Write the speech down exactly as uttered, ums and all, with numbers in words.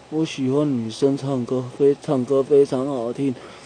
我喜欢女生唱歌，非唱歌非常好听。